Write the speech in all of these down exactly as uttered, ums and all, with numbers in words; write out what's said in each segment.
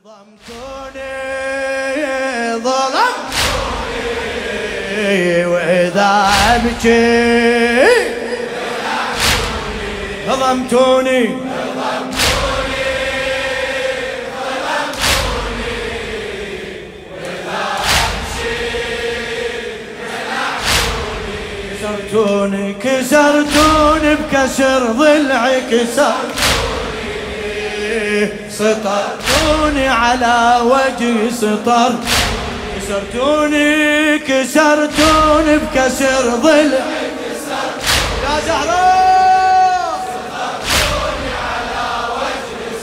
ظلمتوني ظلمتوني وإذا أبكي ظلمتوني كسرتوني كسرتوني بكسر ضلعي كسرتوني سطرتوني على وجهي سطر كسرتوني كسرتوني بكسر ضلعي يا زهراء سطرتوني على وجهي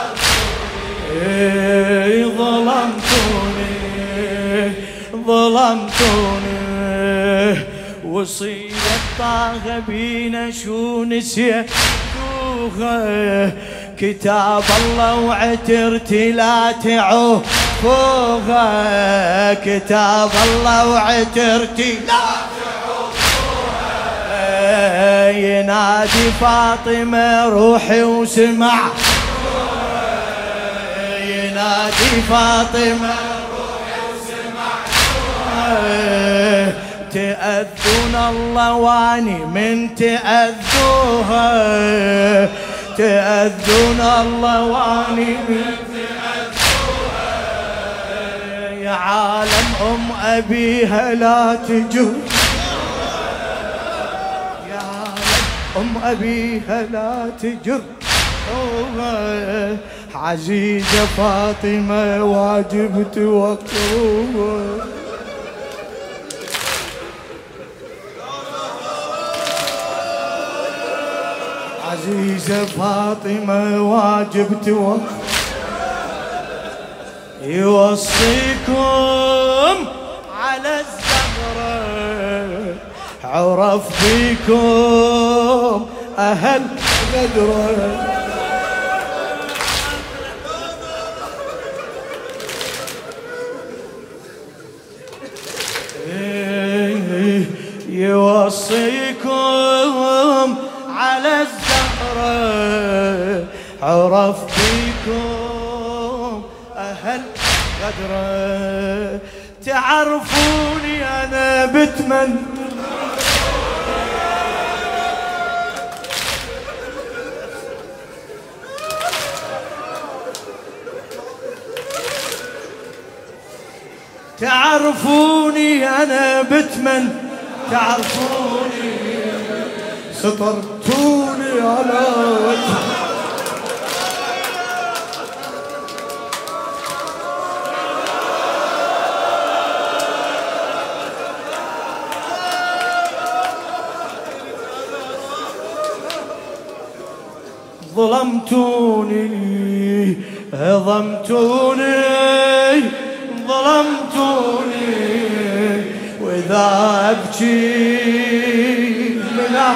سطرتوني ظلمتوني ظلمتوني وصية طه بينا شو نسيتوها كتاب الله وعترتي لا تعوفوها كتاب الله وعترتي لا تعوفوها ينادي فاطمة روحي وسمع ينادي فاطمة روحي وسمع تأذون الله واني من تأذوها تأذون الله واني من تأذوها يا عالم أم أبيها لا تجر يا عالم أم أبيها لا تجر عزيزة فاطمة واجب توقروها عزيزة فاطمة واجب توقف يوصيكم على الزهرة عرف فيكم أهل غدرة يوصيكم على الزهرة عرف فيكم أهل غدرة تعرفوني أنا بتمن تعرفوني أنا بتمن تعرفوني سطرتوني على وجهي ظلمتوني ظلمتوني ظلمتوني وإذا أبكي منع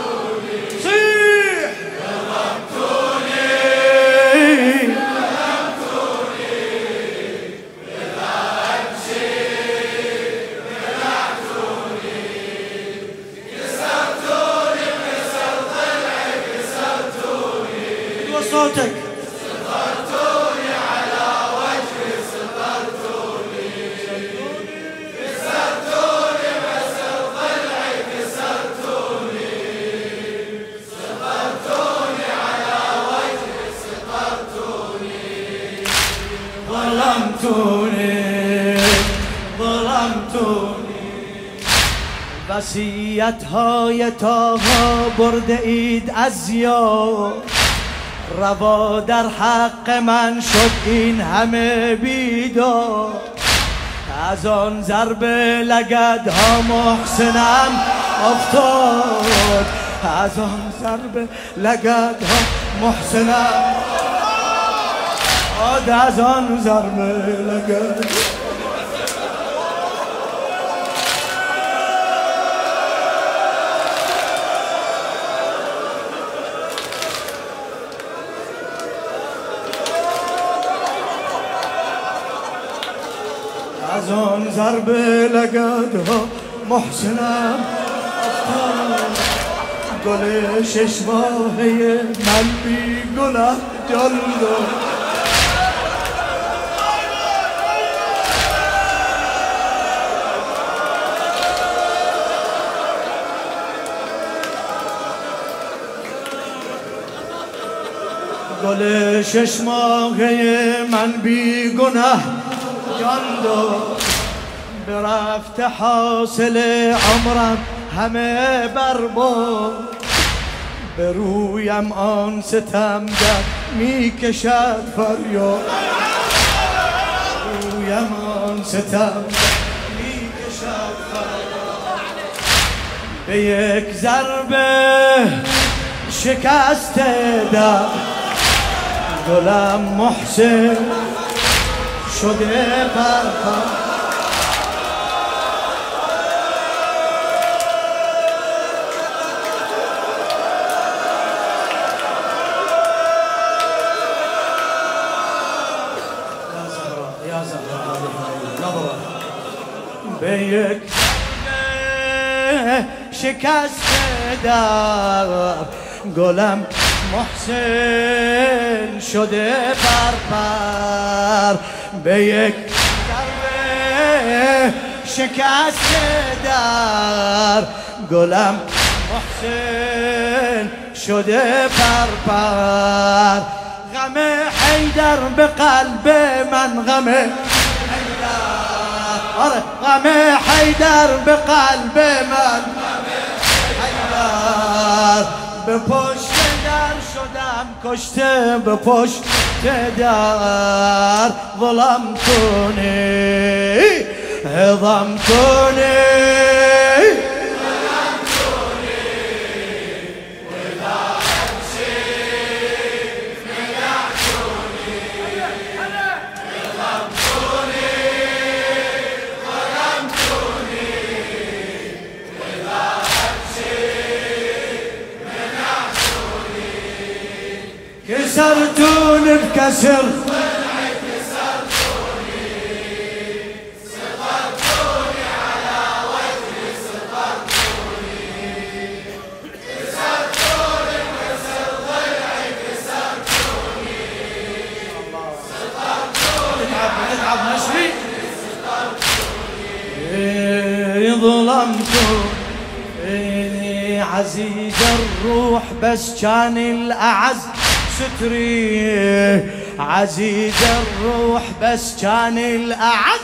صوتك سطرتوني على وجهي سطرتوني كسرتوني بسر ضلعي كسرتوني سطرتوني على وجهي سطرتوني ظلمتوني ظلمتوني بسيتها يتاها برد ايد ازیاد روا در حق من شد این همه بیدار از آن ضرب لگدها محسنم افتاد از آن ضرب لگدها محسنم افتاد از آن ضرب لگدها از آن ضرب لگدها محسنم افتاد گل شش ماهه من بی گناه جان داد ششمه من بی گناه جاندو برفت حاصل عمرم همه برباد به رویم آن ستم در می کشد فریاد رویم آن ستم می کشد فریاد به یک ضربه شکست در گلم محسن شده پرپر به یک شکست در گلم محسن شده پرپر به یک شکست در گلم محسن شده پرپر غم حیدر به قلب من غم آره غم حیدر به قلب من حیدر به پشت در شدم کشته به پشت در ظلمتونی هضمتونی كسرتوني بكسر كسرتوني صغرتوني على وجهي صغرتوني كسرتوني بكسر ضلعي كسرتوني صغرتوني نتعب نتعب نشري ظلمتوني عزيز الروح بس كان الأعز ستري عزيز الروح بس كان الأعز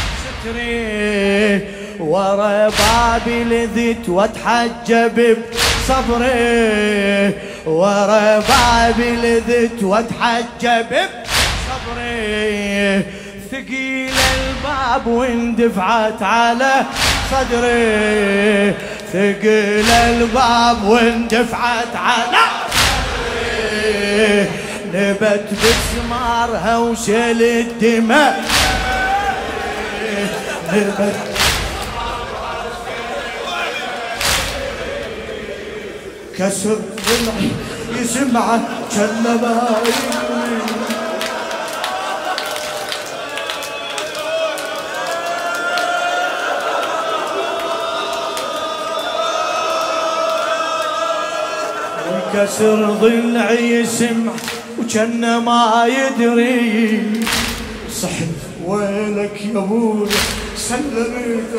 ستري ورا بابي لذت واتحجب بصبري ورا بابي لذت واتحجب بصبري ثقيل الباب واندفعت على صدري ثقيل الباب واندفعت على نبت بسمارها وشل الدماء نبت كسر ضلعي يسمع كلمة كسر ضلعي يسمع وكان ما يدري صحت ويلك يا ابوي سلمت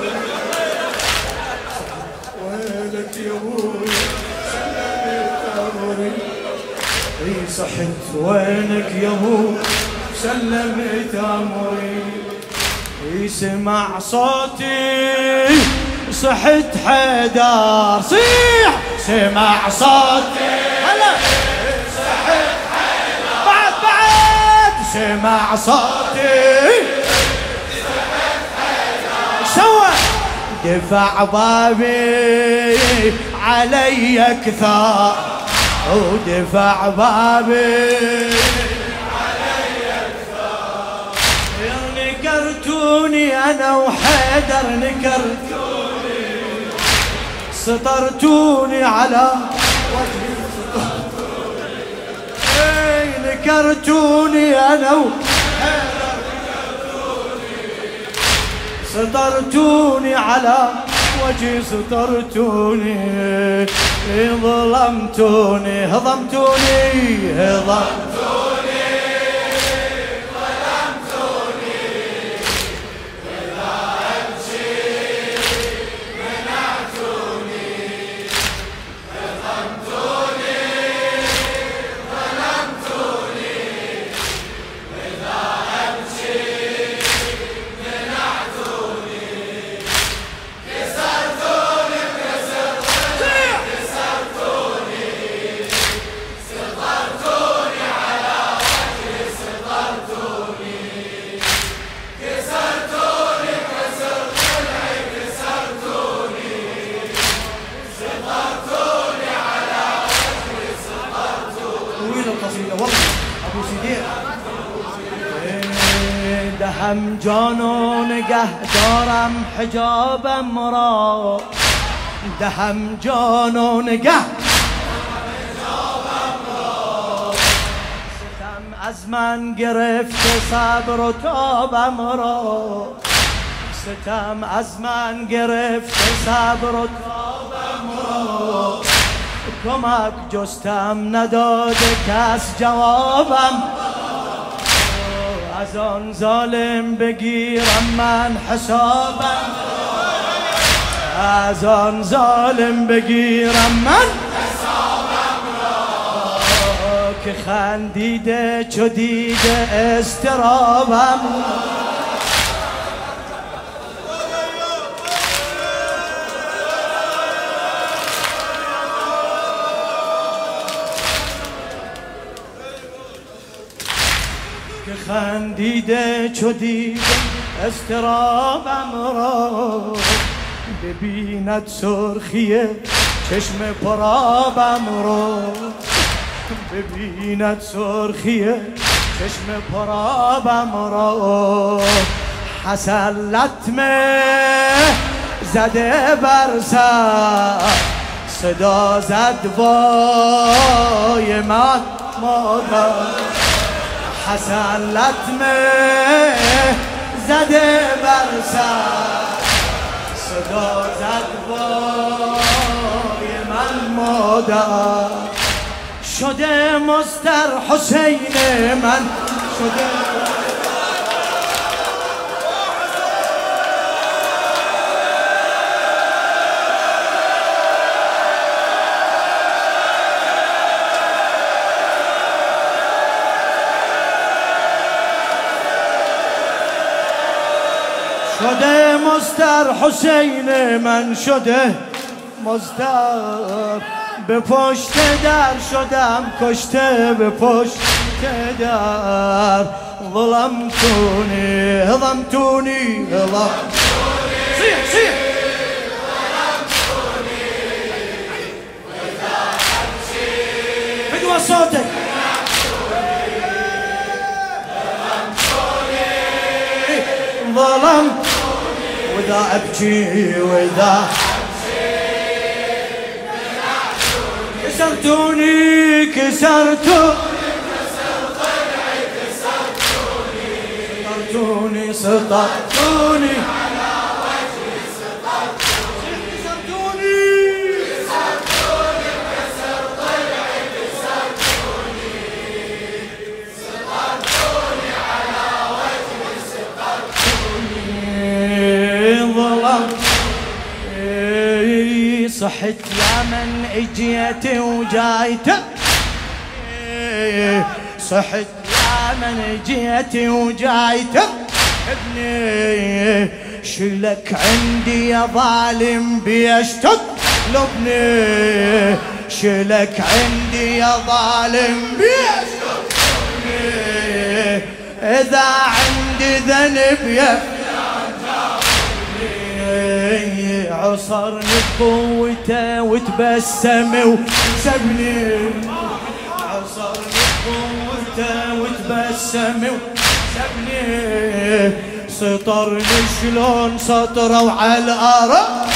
ويلك يا ابوي سلمت امري اي صحت وينك يا ابوي سلمت امري يسمع صوتي صحت حيدر صيح سمع صوتي هلا صحت حيدر بعد بعد سمع صوتي صحت حيدر سوى دفع بابي علي كثار ودفع بابي علي كثار نكرتوني انا وحيدر نكرتوني سطرتوني على وجهي اي نكرتوني انا وحيدر سطرتوني على وجهي سطرتوني ظلمتوني هضمتوني هضمتوني دهم جان و نگه دارم حجابم را، دهم جان و نگه ستم از من گرفته صبر و تابم را، ستم از من گرفته صبر و تابم را، کمک جستم نداده کس جوابم، از آن ظالم بگیرم من حسابم، از آن ظالم بگیرم من حسابم را، که خندیده چو دیده استرابم، که خندیده چو دیده استرابم را، ببیند سرخی چشم پرابم را، ببیند سرخی چشم پرابم را، حسن لطمه زده بر سر صدا زد وای من مادر، حسن لطمه زده بر سر صدا زد وای من مادر، شده مستر حسین من شده شده مستر حسین من شده مستر، به پشت در شدم کشته به پشت در، ظلمتونی ظلمتونی ظلمتونی سیح سیح بدو صوتك ظلمت وإذا أبكي وإذا كسرتوني كسرتوني كسرتوني سطرتوني على وجهي سطرتوني كسرتوني كسرتوني كسر ضلعي كسرتوني سطرتوني على وجهي سطرتوني ظلمت صحت يا من اجيت وجايت، صحت يا من اجيت وجايت ابني، شلك عندي يا ظالم بيشتد لبني، شلك عندي يا ظالم بيشتد لبني، اذا عندي ذنب يا عصرني بقوته وتبسم وسبني، عصرني بقوته وتبسم وسبني، سطرني شلون سطروا على الارض،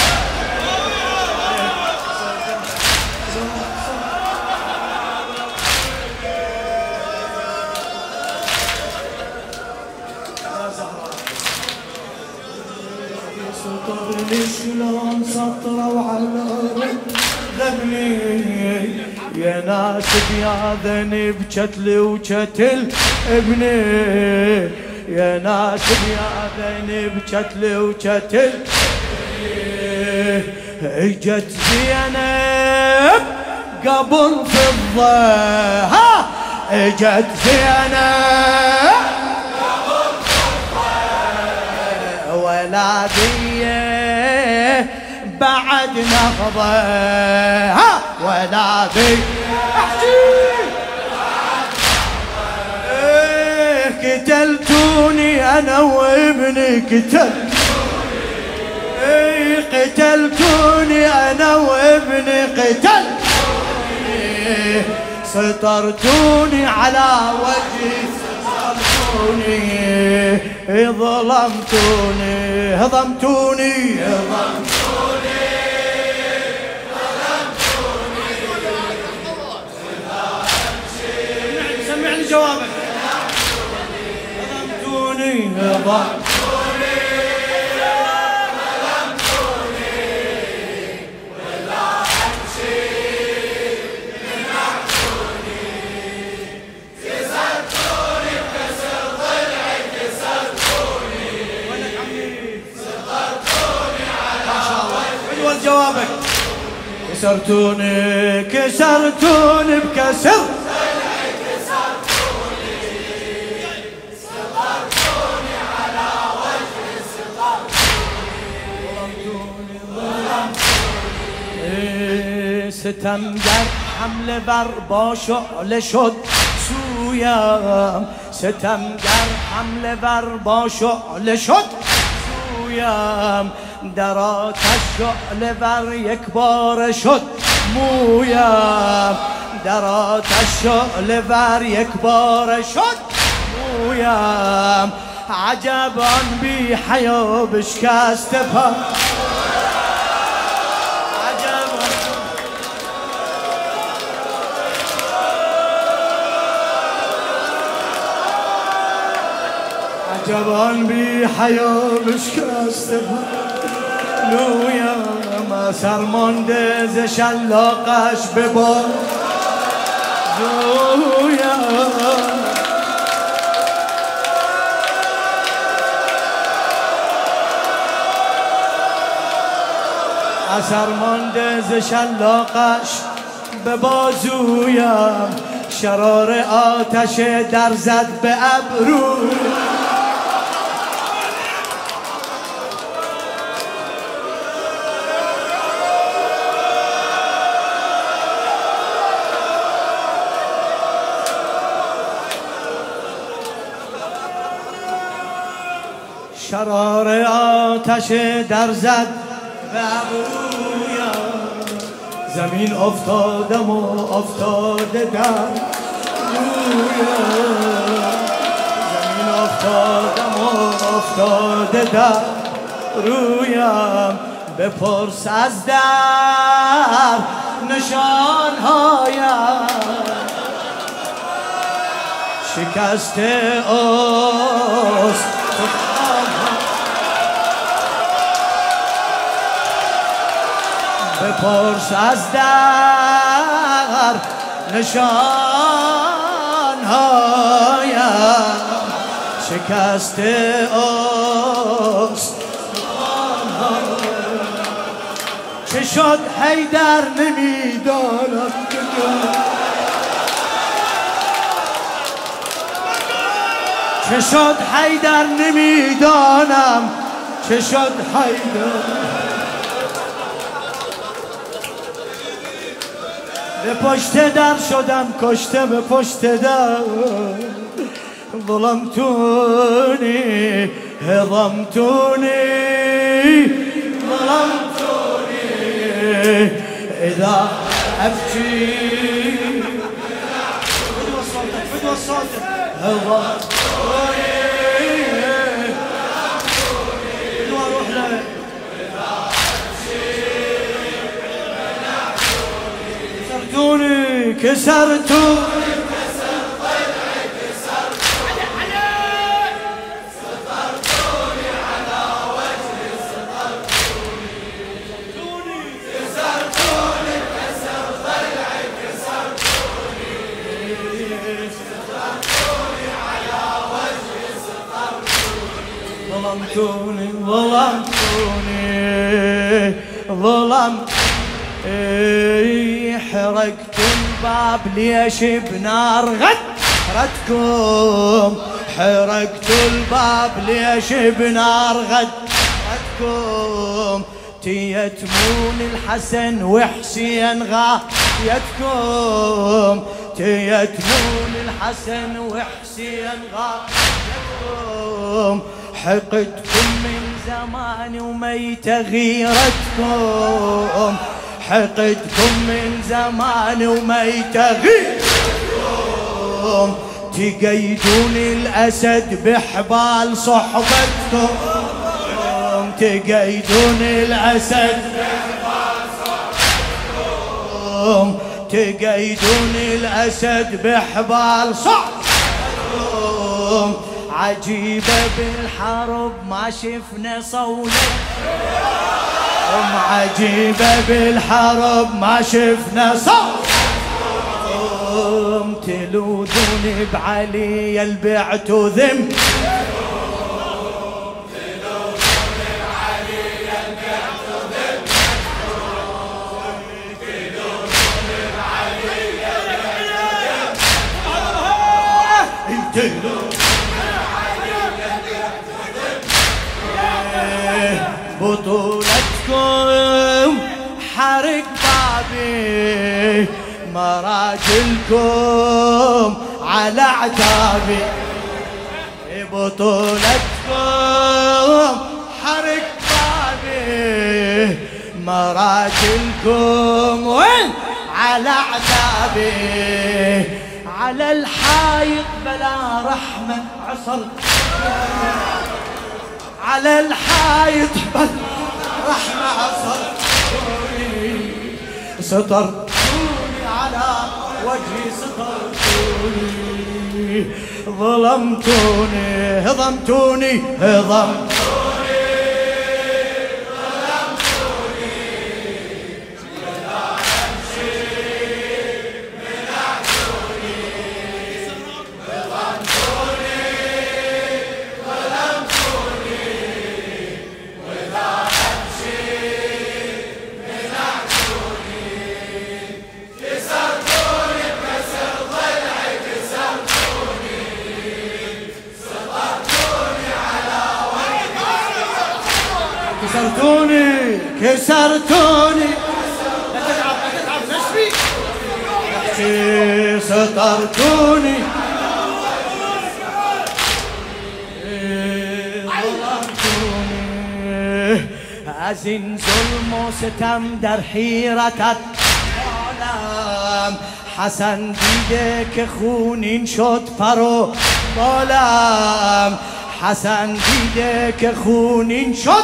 سطرني شلون سطروا على الارض ذبني، يا ناس يا ذنب شتل وشتل ابني، يا ناس يا ذنب شتل وشتل، اجت زينب قبل فضة، ها اجت زينب قبل فضة، ولادية بعد نهضة، ها ولادي قتلتوني انا وابني قتلتوني، اي قتلتوني انا وابني قتلتوني، سطرتوني على وجهي سطرتوني، ظلمتوني هضمتوني ظلمتوني سمعني جوابك هضمتوني هضمتوني ولا أمشي منعتوني كسرتوني بكسر ضلعي كسرتوني صغرتوني على وجهي حلو جوابك كسرتوني كسرتوني بكسر ستمگر حمله بر با شعله شد سویم ستمگر حمله بر با شعله شد سویم در آتش شعله بر یک بار شد مویم در آتش شعله بر یک بار شد مویم عجبان بی حیا بشکست پا جوان بی حیا بشکست لویا ما سرمانده ز شلاقش به باد لویا سرمانده ز شلاقش به بازویم شرار آتش در زد به ابرو شرار آتش در زد به ابرویم زمین افتادم و افتاده در رویم زمین افتادم و افتاده در رویم بپرس از در نشانهایم شکسته است بپرس از در نشانهایم شکسته است چه شد حیدر نمیدانم چه شد حیدر نمیدانم چه شد حیدر به پشت در شدم کشته به پشت در ظلمتونی هضمتونی ظلمتونی اذا ابكي فدوى صوتك فدوى صوتك هضمتوني فدوى روح له كسرتوني كسرتوني كسر ضلعي كسرتوني صغرتوني على وجهي صغرتوني كسرتوني كسر ضلعي كسرتوني صغرتوني على وجهي صغرتوني ظلمتوني ظلمتوني ظلمتوني حرقت الباب ليش بنار غدرتكم حرقت الباب ليش بنار غدرتكم تيتمون الحسن وحسين غايتكم تيتمون الحسن وحسين غايتكم حقدكم من زمان وميت غيرتكم حقدكم من زمان وميت غيرتكم تقيدون الأسد بحبال صحبتكم، تقيدون الأسد بحبال صحبتكم، تقيدون الأسد بحبال صحبتكم. عجيبة بالحرب ما شفنا صولتكم، عجيبة بالحرب ما شفنا صولتكم. تلوذون بعلي البعت ذم، بطولتكم حرق بابي، مراجلكم على عتابي. بطولتكم حرق بابي، مراجلكم وين على عتابي. على الحايط بلا رحمة عصر، على الحايط بلا رحمة عصر. سترتوني على وجهي، سترتوني ظلمتوني، هضمتوني هضمتوني كسرتوني كسرتوني. لا تتعب لا تتعب نشفي. سطرتوني ظلمتوني. أزن ظلم وستم در حيرة العالم. حسن دیده که خونین شد فرو بالم. حسن دیده که خونین شد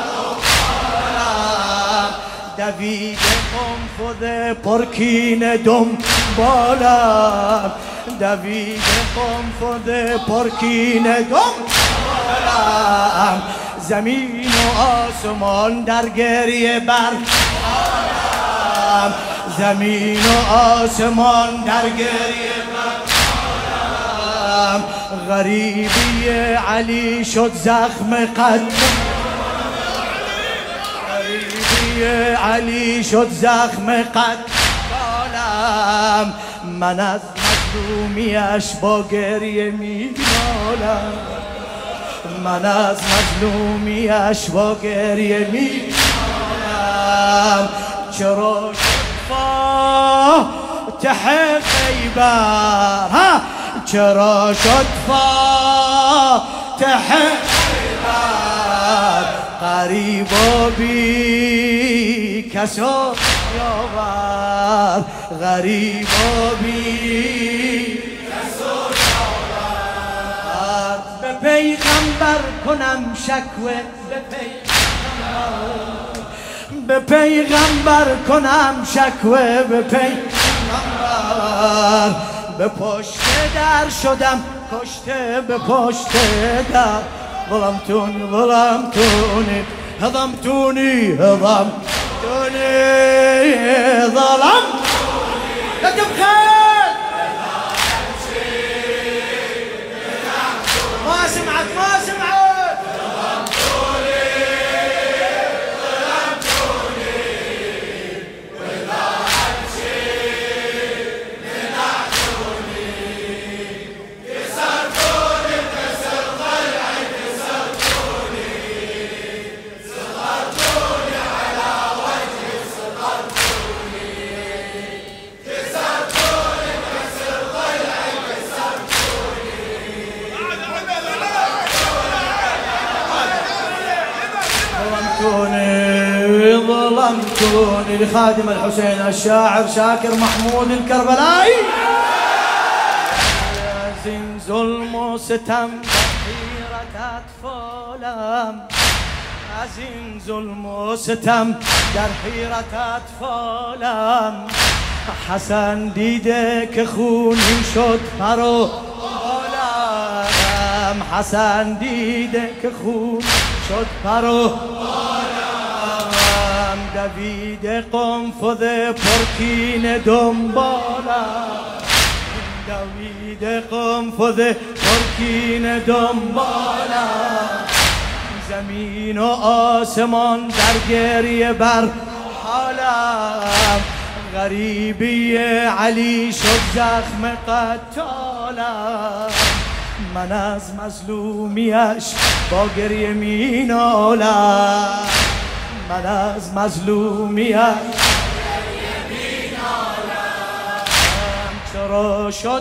دویده قنفذ پرکین دم بالم. دویده قنفذ پرکین دم بالم. زمین و آسمان در گریه بر بالم. زمین و آسمان در گریه بر بالم. غریبی علی شد زخم قد، غریبی علی شد زخم قد بالم. من از مظلومیش با گریه می نالم. من از مظلومیش با گریه می نالم. چرا فاتح خیبر، ها چرا شد فاتح خیبر. قریب و بی کسو یاور، غریب و بی کسو یاور. به پیغمبر کنم شکوه، به پیغمبر، به پیغمبر کنم شکوه، به پیغمبر. به پشت در شدم کشته، به پشت در. ظلمتوني ظلمتوني هضمتوني هضمتوني ظلمتوني. لا تبخل ما سمعت ما سمعت. ظلمتوني ظلمتوني وإذا أمشي منعتوني. كسرتوني بكسر ضلعي، كسرتوني سطرتوني على وجهي، سطرتوني كسرتوني بكسر ضلعي، كسرتوني ظلمتوني ظلمتوني. لخادم الحسين الشاعر شاكر محمود الكربلائي. ظلم و ستم در حیرت اطفالم، از این ظلم و ستم در حیرت اطفالم. حسن دیده که خونین شد پر و بالم، حسن دیده که خون شد پر و بالم. دویده قنفذ پرکین دنبالم، دویده قنفذ پرکین دنبالم. زمین و آسمان در گریه بر حالم، غریبی علی شد زخم قتالم. من از مظلومیش با گریه می نالم، من از مظلومیش می نالم. چرا شد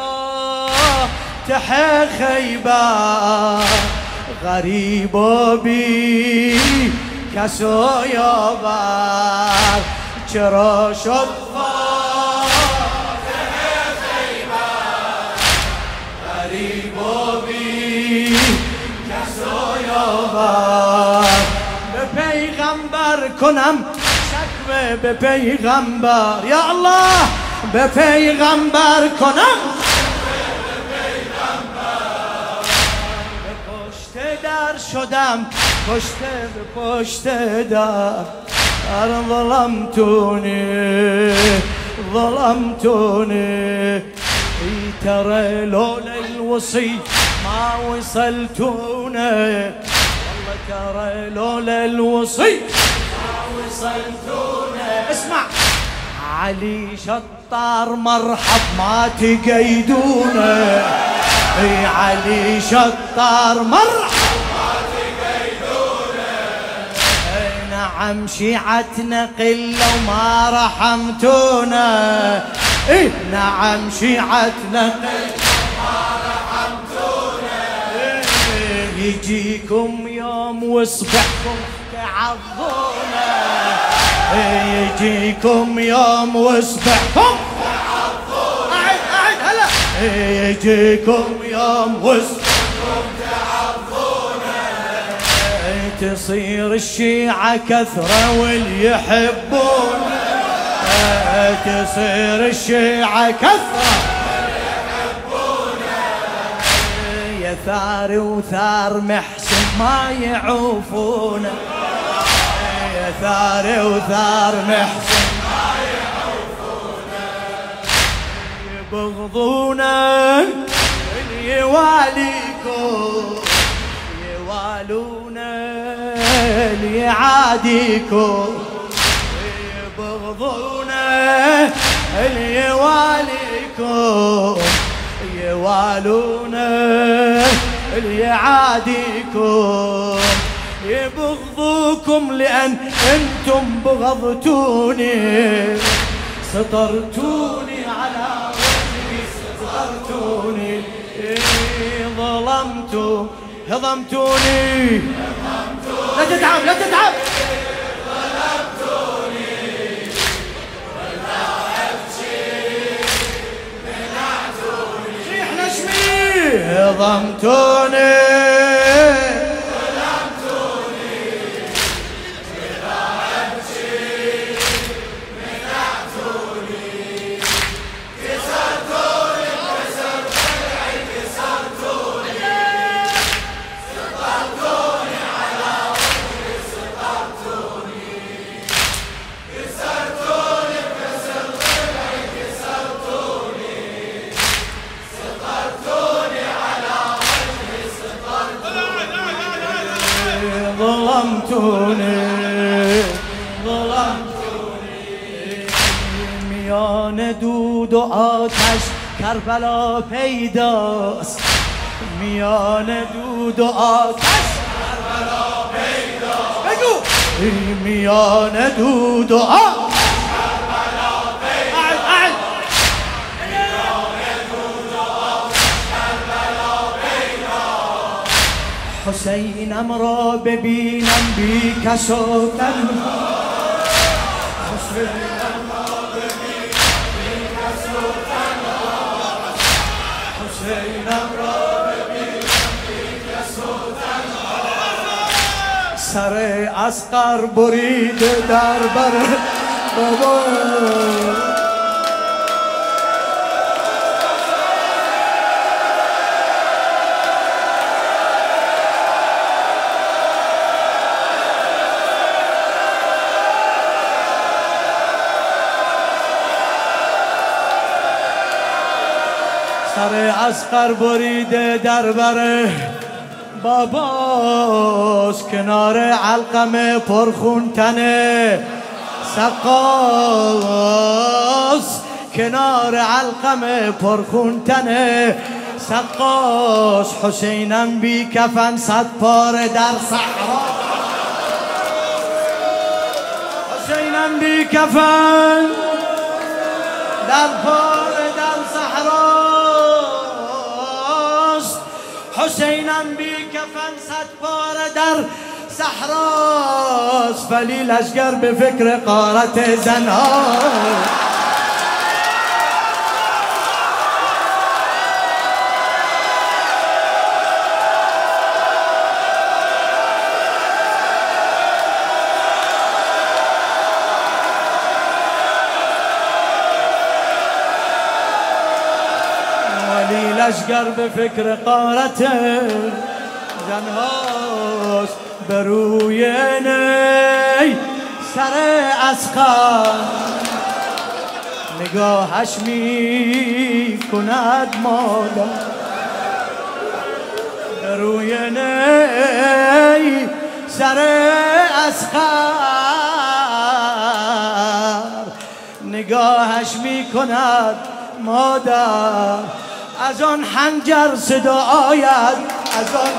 فاتح خیبر غریب و بی کس و یاور؟ چرا شد فاتح خیبر غریب و بی کس و یاور؟ به پیغمبر کنم شکوه، به پیغمبر یا الله، به پیغمبر کنم در شدم، کشته به پشت در. ظلمتوني ظلمتوني ترى لولا الوصي ما وصلتونا، والله ترى لولا الوصي ما وصلتونا. اسمع علي شطار مرحب ما تقيدونا، اي علي شطار مرحب ما تقيدونا. اي نعم شيعتنا قلة وما رحمتونا، اي نعم شيعتنا قلة وما رحمتونا. يجيكم يوم واصبحكم تعظونا، يجيكم يوم واصبحكم يجيكم يوم وسطكم تعظونا. تصير الشيعة كثرة واللي يحبونا، تصير الشيعة كثرة واللي يحبونا. يا ثار وثار محسن ما يعوفونا، يا ثار وثار محسن يبغضونا. اللي يواليكم يوالونا، اللي يعاديكم يبغضونا، اللي يواليكم يوالونا، اللي يعاديكم يبغضوكم. لأن انتم بغضتوني، سطرتوني على ظلمتوني، ظلمتوا هضمتوني. لا تتعب لا تتعب. ظلمتوني ولا أبكي منعتوني، صيح نشمي. هضمتوني ظلمتوني ولا أبكي منعتوني. كسرتوني كسر ضلعي كسرتوني، سطرتوني على وجهي سطرتوني، كسرتوني كسر ضلعي كسرتوني، سطرتوني على وجهي سطرتوني. ظلمتوني ظلمتوني. میان دود و آتش کربلا پیداست، میان دود و آتش کربلا پیداست. بگو میان دود و آتش کربلا پیداست. اعد میان دود و آتش کربلا پیداست. حسینم را ببینم بی کس و تنها، حسینم را ببینم بی کس و تنها، حسینم سر اصغر برید در بر بابا سر اصغر بریده در بر باباست، کنار علقم پرخون تنه سقاس، کنار علقم پرخون تنه سقاس. حسینم بی کفن صد پاره در صحرا، حسینم بی کفن در پاره در صحراست، حسینم بی کفن صد پاره در صحراست. ولی لشگر به فکر غارت زنها، ولی لشگر به فکر غارت زنهاست. بروی نی سر اصغر نگاهش می کند مادر، بروی نی سر اصغر نگاهش می کند مادر. از آن حنجر صدا آید، از آن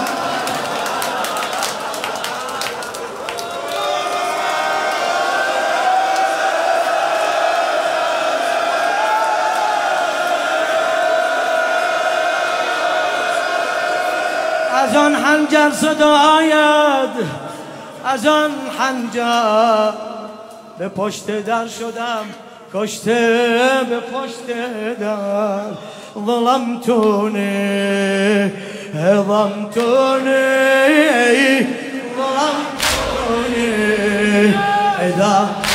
از آن حنجر صدا آید، از آن حنجر به پشت در شدم کشته، به پشت در ظلمتوني ظلمتوني ظلمتوني إذا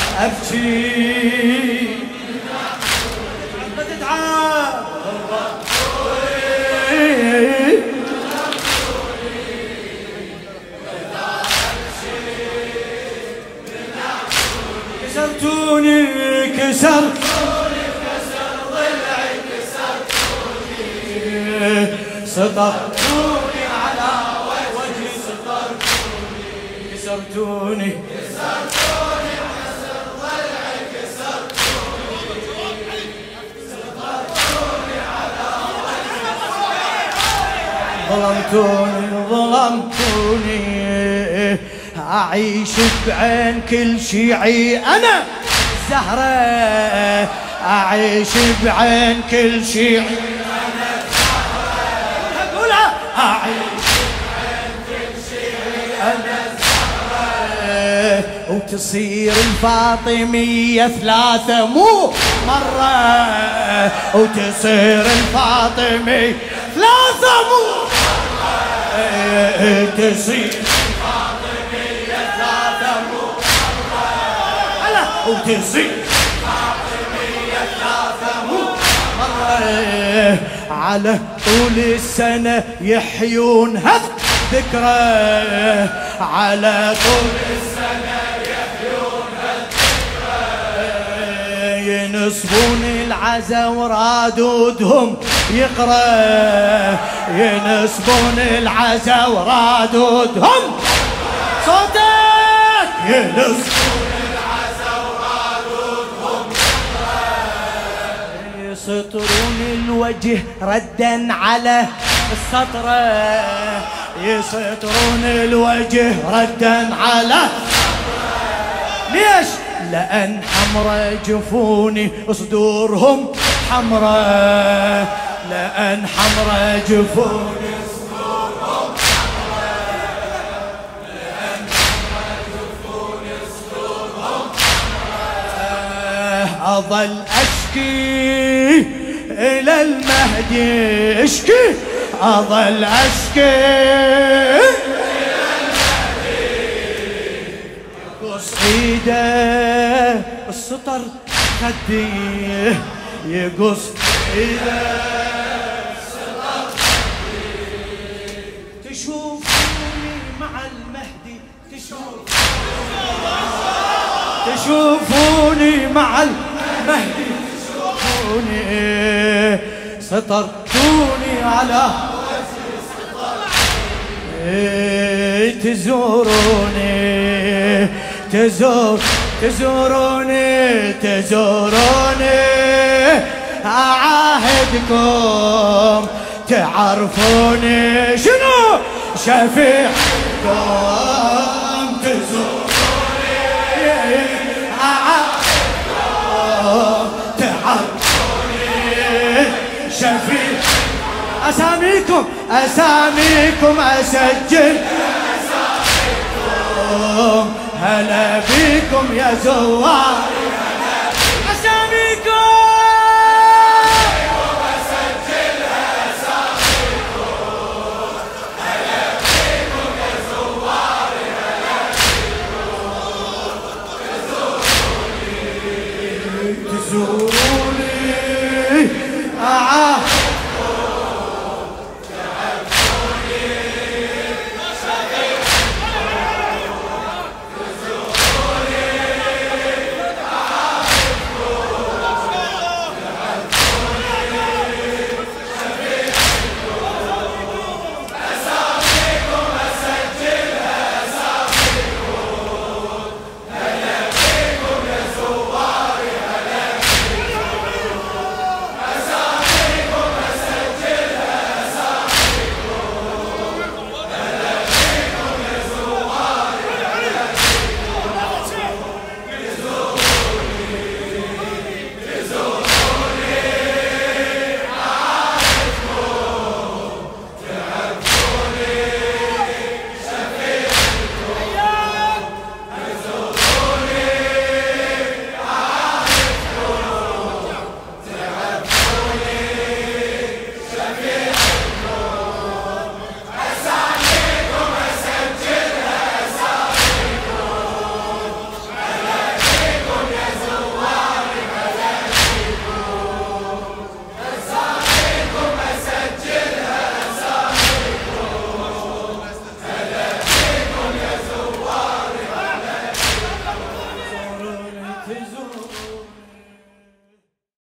أبكي بتتعب كسرتوني كسرتوني كسر ضلعي كسرتوني سطرتوني على وجهي سطرتوني كسرتوني كسرتوني كسر ضلعي كسرتوني سطرتوني على وجهي ظلمتوني ظلمتوني أعيش بعين كل شيعي أنا زهرة، أعيش بعين كل شيعي أنا زهرة، أقولها أعيش بعين كل شيعي أنا زهرة، وتصير الفاطمية ثلاثة مو مرة، وتصير الفاطمية ثلاثة مو مرة، تصير وتصير فاطمية ثلاثة مرة على طول السنة يحيون هالذكرى، على طول السنة يحيون هالذكرى، ينصبون العزا ورادودهم يقرأ، ينصبون العزا ورادودهم صوتك ينصبون يسطرون الوجه ردا على السطر، يسطرون الوجه ردا على ليش؟ لأن حمرا جفوني صدورهم حمرا، لأن حمرا جفوني صدورهم حمرا، لأن حمرا جفوني صدورهم حمرا. أظل أشكي إلى المهدي اشكي، أظل أشكي إلى المهدي خطر خدي يقص إذا تشوفوني مع المهدي تشوفوني مع المهدي تشوفوني سطرتوني على تزوروني تزور تزوروني تزوروني أعاهدكم تعرفوني شنو شفيعكم تزوروني أعاهدكم تعرفوني شفيع أساميكم أساميكم أسجل أساميكم هلا بكم يا زوار